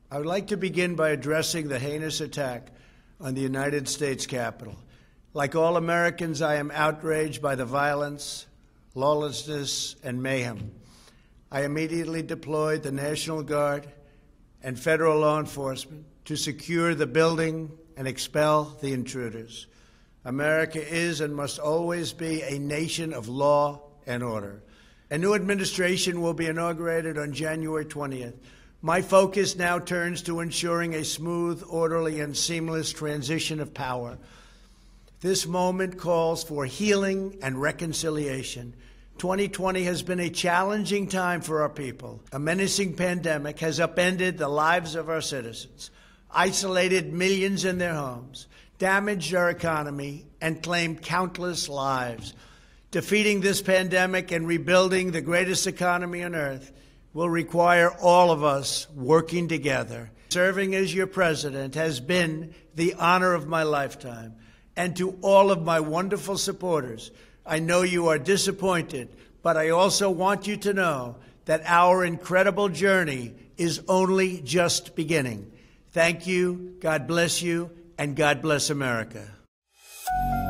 I would like to begin by addressing the heinous attack on the United States Capitol. Like all Americans, I am outraged by the violence, lawlessness, and mayhem. I immediately deployed the National Guard and federal law enforcement to secure the building and expel the intruders. America is and must always be a nation of law and order. A new administration will be inaugurated on January 20th. My focus now turns to ensuring a smooth, orderly, and seamless transition of power. This moment calls for healing and reconciliation. 2020 has been a challenging time for our people. A menacing pandemic has upended the lives of our citizens, isolated millions in their homes, damaged our economy, and claimed countless lives. Defeating this pandemic and rebuilding the greatest economy on earth will require all of us working together. Serving as your president has been the honor of my lifetime. And to all of my wonderful supporters, I know you are disappointed, but I also want you to know that our incredible journey is only just beginning. Thank you, God bless you, and God bless America.